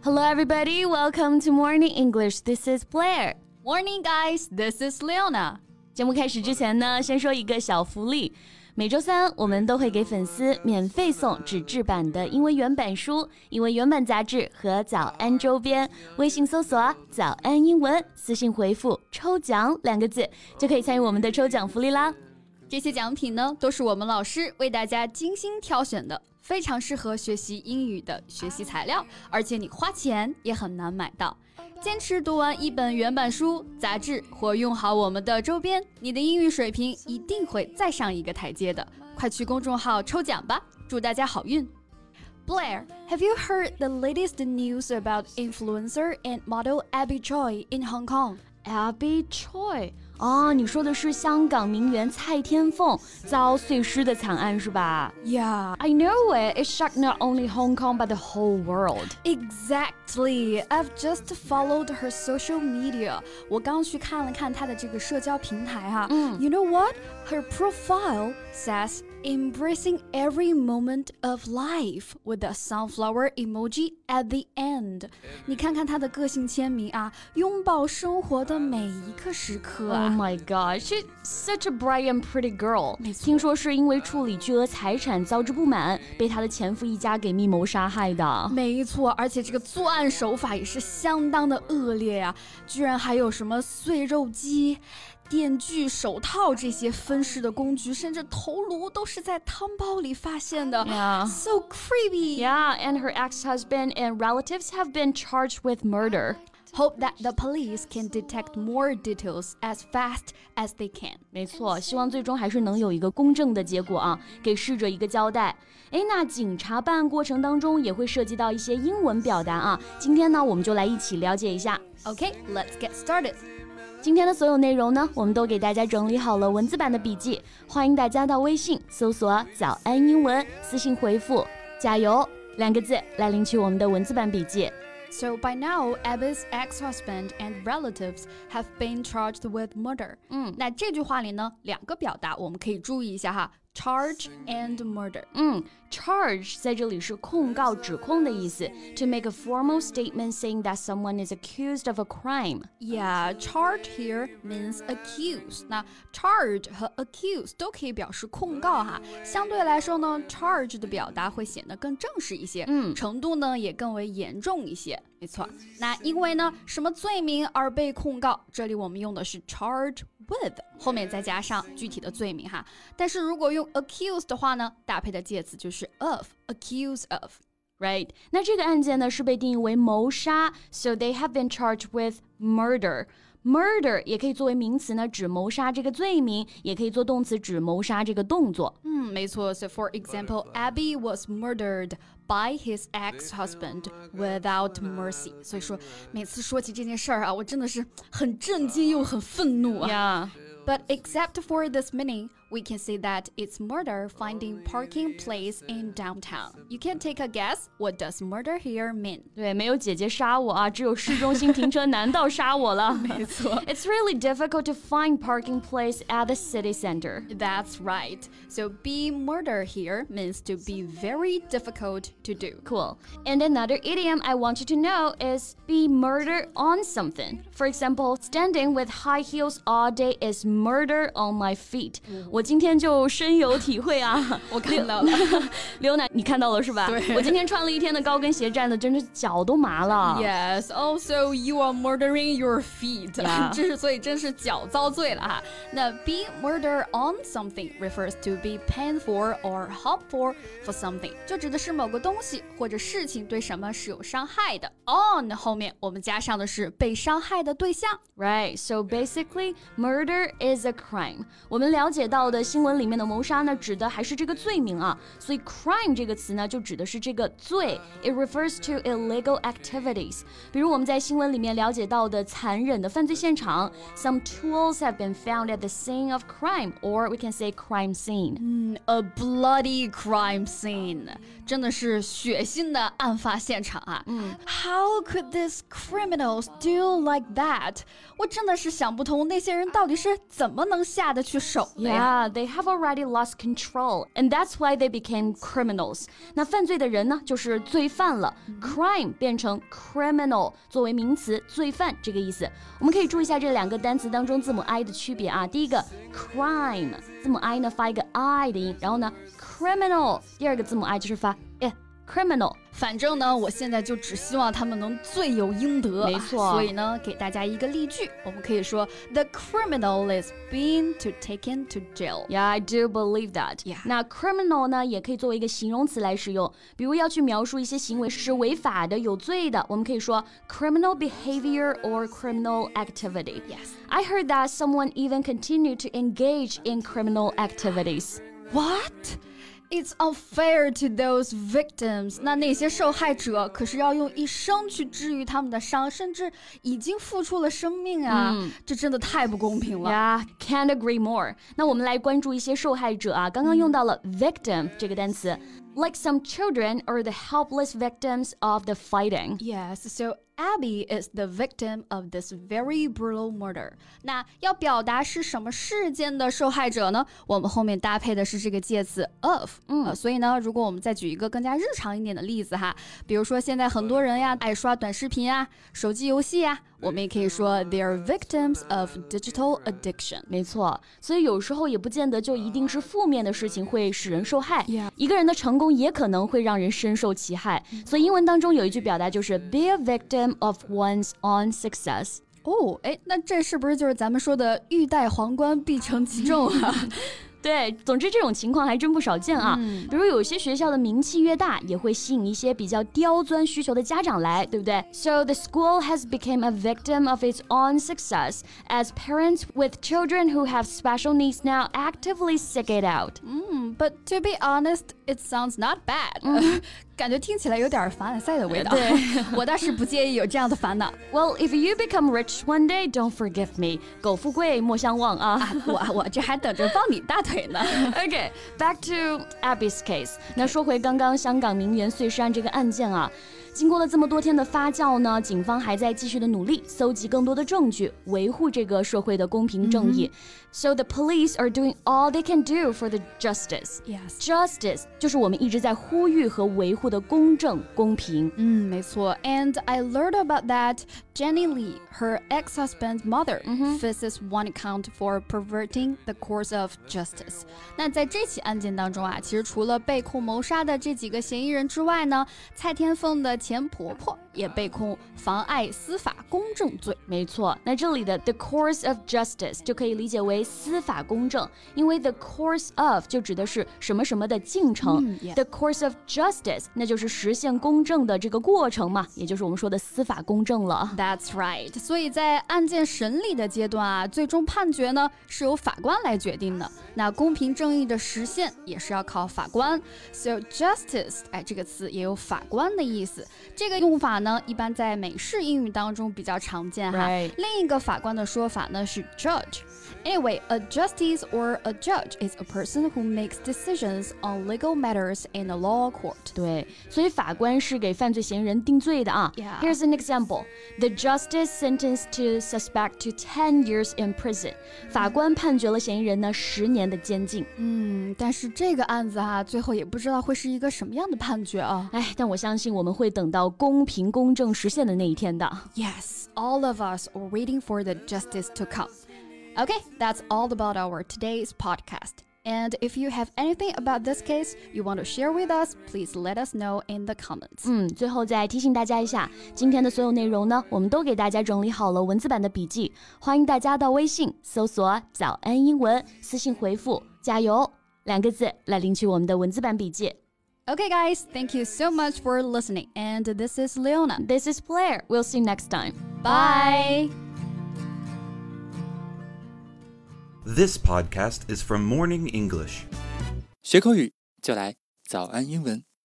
Hello everybody, welcome to Morning English. This is Blair. Morning guys, this is Leona. 节目开始之前呢，先说一个小福利。每周三我们都会给粉丝免费送纸质版的英文原版书、英文原版杂志和早安周边。微信搜索早安英文，私信回复抽奖2个字就可以参与我们的抽奖福利啦。 这些奖品呢，都是我们老师为大家精心挑选的，非常适合学习英语的学习材料，而且你花钱也很难买到。坚持读完一本原版书、杂志或用好我们的周边，你的英语水平一定会再上一个台阶的。快去公众号抽奖吧，祝大家好运。Blair, have you heard the latest news about influencer and model Abby Choi in Hong Kong?Abby Choi 你说的是香港名媛蔡天凤遭碎尸的惨案是吧？ Yeah, I know it. It shocked not only Hong Kong but the whole world. Exactly. I've just followed her social media. 我刚去看了看她的这个社交平台哈。You know what? Her profile says embracing every moment of life with a sunflower emoji at the end. 你看看她的个性签名啊，拥抱生活的每一个时刻啊。 Oh my god, she's such a bright and pretty girl. 听说是因为处理巨额财产遭致不满，被她的前夫一家给密谋杀害的。 没错，而且这个作案手法也是相当的恶劣呀，居然还有什么碎肉机、电锯、手套这些分尸的工具，甚至头颅都是在汤包里发现的。 Yeah. So creepy. Yeah, and her ex-husband and relatives have been charged with murder.Hope that the police can detect more details as fast as they can. 没错，希望最终还是能有一个公正的结果啊，给逝者一个交代。那警察办案过程当中也会涉及到一些英文表达啊，今天呢我们就来一起了解一下。 Okay, let's get started. 今天的所有内容呢，我们都给大家整理好了文字版的笔记，欢迎大家到微信搜索早安英文，私信回复加油2个字来领取我们的文字版笔记。 So by now, Abby's ex-husband and relatives have been charged with murder. 那这句话里呢，2个表达我们可以注意一下哈。Charge and murder. Charge 在这里是控告、指控的意思。To make a formal statement saying that someone is accused of a crime. Yeah, charge here means accuse. 那 charge 和 accuse 都可以表示控告哈。相对来说呢 ，charge 的表达会显得更正式一些，程度呢也更为严重一些。没错。那因为呢什么罪名而被控告，这里我们用的是 charge with， 后面再加上具体的罪名哈。但是如果用 accuse 的话呢，搭配的介词就是 of, accuse of. Right. 那这个案件呢是被定义为谋杀 ，so they have been charged with murder.Murder 也可以作为名词呢，指谋杀这个罪名，也可以做动词指谋杀这个动作。 没错。So for example, Abby was murdered by his ex-husband without mercy. 所以说，每次说起这件事儿啊，我真的是很震惊又很愤怒啊。 Yeah.But except for this meaning, we can say that it's murder finding parking place in downtown. You can take a guess, what does murder here mean? 对，没有姐姐杀我啊，只有市中心停车难道杀我了？ 没错。 It's really difficult to find parking place at the city center. That's right. So be murder here means to be very difficult to do. Cool. And another idiom I want you to know is be murder on something. For example, standing with high heels all day is murder on my feet. 我今天就深有体会啊。 我看到了。 刘奶，你看到了是吧？ 对。 我今天穿了一天的高跟鞋，站的真是脚都麻了。 Yes, also you are murdering your feet. Yeah. 所以真是脚遭罪了哈。那 be murder on something refers to be painful or harmful for something. 就指的是某个东西或者事情对什么是有伤害的。On 后面我们加上的是被伤害的对象。 Right, so basically, murder is a crime. 我们了解到的新闻里面的谋杀呢，指的还是这个罪名啊，所以 crime 这个词呢，就指的是这个罪。It refers to illegal activities. 比如我们在新闻里面了解到的残忍的犯罪现场 ，some tools have been found at the scene of crime, or we can say crime scene. A bloody crime scene. 真的是血腥的案发现场啊。How could these criminals do like that? 我真的是想不通那些人到底是怎么能下得去手的呀。 they have already lost control, and that's why they became criminals. 那犯罪的人呢，就是罪犯了。Crime 变成 criminal 作为名词，罪犯这个意思。我们可以注意一下这两个单词当中字母 I 的区别啊。第一个 crime 字母 I 呢发一个 I 的音，然后呢 criminal 第二个字母 I 就是发criminal。 反正呢，我现在就只希望他们能罪有应得。 没错。 所以呢，给大家一个例句，我们可以说 The criminal is being taken to jail. Yeah, I do believe that. Yeah. 那 criminal 呢，也可以作为一个形容词来使用，比如要去描述一些行为是违法的、有罪的，我们可以说 criminal behavior or criminal activity. Yes. I heard that someone even continued to engage in criminal activities. What?It's unfair to those victims. 那些受害者可是要用一生去治愈他们的伤，甚至已经付出了生命啊！这真的太不公平了。 Yeah, can't agree more. 那我们来关注一些受害者啊，刚刚用到了 victim 这个单词。Like some children are the helpless victims of the fighting. Yes, so Abby is the victim of this very brutal murder. 那要表达是什么事件的受害者呢？我们后面搭配的是这个介词 of. 所以呢，如果我们再举一个更加日常一点的例子哈，比如说现在很多人呀爱刷短视频啊、手机游戏啊，我们也可以说 they are victims of digital addiction. 没错，所以有时候也不见得就一定是负面的事情会使人受害。 Yeah. 一个人的成功也可能会让人深受其害。所以英文当中有一句表达就是 be a victim of one's own success. 那这是不是就是咱们说的欲戴皇冠必承其重啊？ 对，总之这种情况还真不少见啊。比如有些学校的名气越大，也会吸引一些比较刁钻需求的家长来，对不对？ So the school has become a victim of its own success as parents with children who have special needs now actively seek it out. But to be honest, it sounds not bad. 感觉听起来有点凡尔赛的味道。 对， 我倒是不介意有这样的烦恼。 Well, if you become rich one day, don't forgive me. 苟富贵莫相忘啊。 我这还等着抱你大腿呢。 Okay, back to Abby's case. 那说回刚刚香港名媛碎尸案这个案件啊。经过了这么多天的发酵呢，警方还在继续的努力，搜集更多的证据，维护这个社会的公平正义。So the police are doing all they can do for the justice. Yes. Justice 就是我们一直在呼吁和维护的公正、公平。 没错。And I learned about that Jenny Lee, her ex-husband's mother, faces one count for perverting the course of justice. 那在这起案件当中啊，其实除了被控谋杀的这几个嫌疑人之外呢，蔡天凤的前婆婆也被控妨碍司法公正罪。 没错，那这里的 the course of justice 就可以理解为司法公正，因为 the course of 就指的是什么什么的进程。The course of justice 那就是实现公正的这个过程嘛，也就是我们说的司法公正了。 That's right. 所以在案件审理的阶段啊，最终判决呢是由法官来决定的。那公平正义的实现也是要靠法官。So justice， 这个词也有法官的意思。这个用法呢，一般在美式英语当中比较常见哈。另一个法官的说法呢是 judge。Anyway, a justice or a judge is a person who makes decisions on legal matters in a law court. 对，所以法官是给犯罪嫌疑人定罪的啊。Here's an example. The justice sentenced to suspect to 10 years in prison. 法官判决了嫌疑人呢10年的监禁。 但是这个案子啊，最后也不知道会是一个什么样的判决啊。 但我相信我们会等到公平公正实现的那一天的。 Yes, all of us are waiting for the justice to come. Okay, that's all about our today's podcast. And if you have anything about this case you want to share with us, please let us know in the comments. 最后再提醒大家一下，今天的所有内容呢，我们都给大家整理好了文字版的笔记，欢迎大家到微信搜索早安英文，私信回复加油2个字来领取我们的文字版笔记。 Okay guys, thank you so much for listening. And this is Leona. This is Blair. We'll see you next time. Bye. This podcast is from Morning English. 学口语就来早安英文。